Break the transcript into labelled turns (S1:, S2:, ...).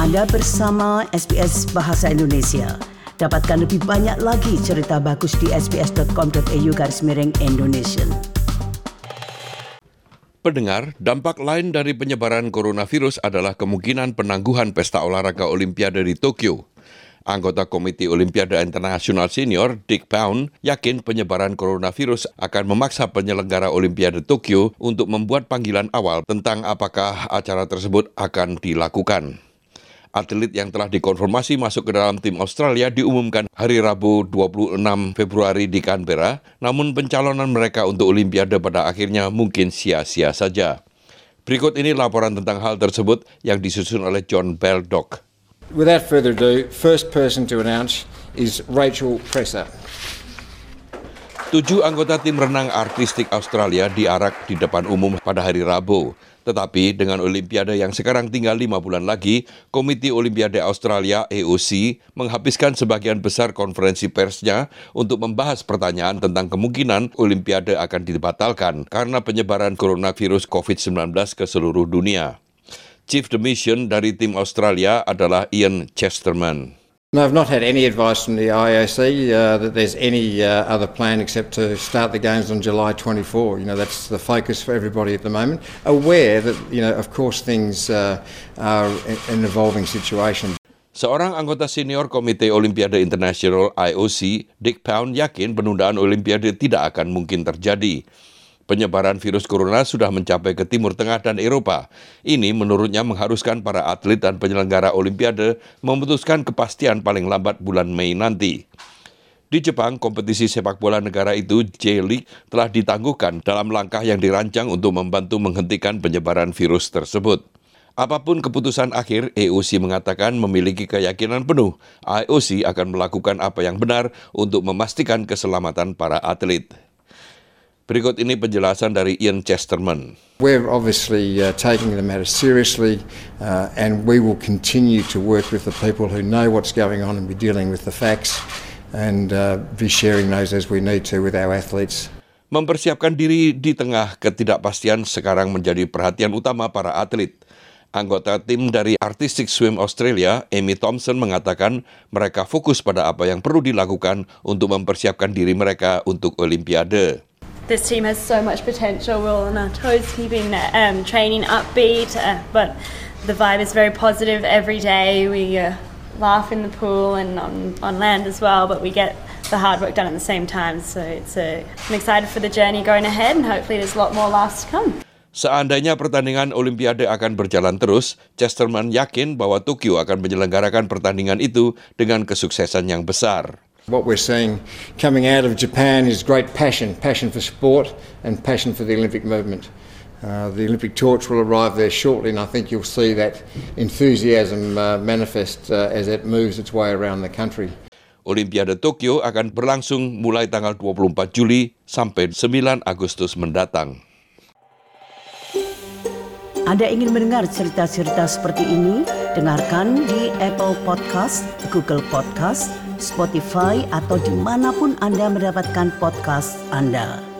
S1: Anda bersama SBS Bahasa Indonesia. Dapatkan lebih banyak lagi cerita bagus di sbs.com.au/Indonesian.
S2: Pendengar, dampak lain dari penyebaran coronavirus adalah kemungkinan penangguhan pesta olahraga Olimpiade di Tokyo. Anggota Komite Olimpiade Internasional Senior, Dick Pound, yakin penyebaran coronavirus akan memaksa penyelenggara Olimpiade Tokyo untuk membuat panggilan awal tentang apakah acara tersebut akan dilakukan. Atlet yang telah dikonfirmasi masuk ke dalam tim Australia diumumkan hari Rabu 26 Februari di Canberra, namun pencalonan mereka untuk Olimpiade pada akhirnya mungkin sia-sia saja. Berikut ini laporan tentang hal tersebut yang disusun oleh John Baldock.
S3: Without further ado, first person to announce is Rachel Presser.
S2: 7 anggota tim renang artistik Australia diarak di depan umum pada hari Rabu. Tetapi dengan Olimpiade yang sekarang tinggal 5 bulan lagi, Komite Olimpiade Australia AOC menghabiskan sebagian besar konferensi persnya untuk membahas pertanyaan tentang kemungkinan Olimpiade akan dibatalkan karena penyebaran coronavirus COVID-19 ke seluruh dunia. Chief de Mission dari tim Australia adalah Ian Chesterman.
S3: No, I've not had any advice from the IOC that there's any other plan except to start the games on July 24. You know, that's the focus for everybody at the moment. Aware that, you know, of course things are an evolving situation.
S2: Seorang anggota senior Komite Olimpiade Internasional IOC, Dick Pound, yakin penundaan Olimpiade tidak akan mungkin terjadi. Penyebaran virus corona sudah mencapai ke Timur Tengah dan Eropa. Ini menurutnya mengharuskan para atlet dan penyelenggara Olimpiade memutuskan kepastian paling lambat bulan Mei nanti. Di Jepang, kompetisi sepak bola negara itu, J-League, telah ditangguhkan dalam langkah yang dirancang untuk membantu menghentikan penyebaran virus tersebut. Apapun keputusan akhir, AOC mengatakan memiliki keyakinan penuh IOC akan melakukan apa yang benar untuk memastikan keselamatan para atlet. Berikut ini penjelasan dari Ian Chesterman.
S3: We're obviously taking the matter seriously and we will continue to work with the people who know what's going on and be dealing with the facts and be sharing those as we need to with our athletes.
S2: Mempersiapkan diri di tengah ketidakpastian sekarang menjadi perhatian utama para atlet. Anggota tim dari Artistic Swim Australia, Amy Thompson, mengatakan mereka fokus pada apa yang perlu dilakukan untuk mempersiapkan diri mereka untuk Olimpiade.
S4: This team has so much potential. We're all on our toes, keeping training upbeat, but the vibe is very positive every day. We laugh in the pool and on land as well, but we get the hard work done at the same time. So I'm excited for the journey going ahead, and hopefully there's a lot more laughs to come.
S2: Seandainya pertandingan Olimpiade akan berjalan terus, Chesterman yakin bahwa Tokyo akan menyelenggarakan pertandingan itu dengan kesuksesan yang besar.
S3: What we're seeing coming out of Japan is great passion for sport and passion for the Olympic movement. The Olympic torch will arrive there shortly, and I think you'll see that enthusiasm manifest as it moves its way around the country.
S2: Olimpiade Tokyo akan berlangsung mulai tanggal 24 Juli sampai 9 Agustus mendatang.
S1: Anda ingin mendengar cerita-cerita seperti ini? Dengarkan di Apple Podcast, Google Podcast, Spotify, atau dimanapun Anda mendapatkan podcast Anda.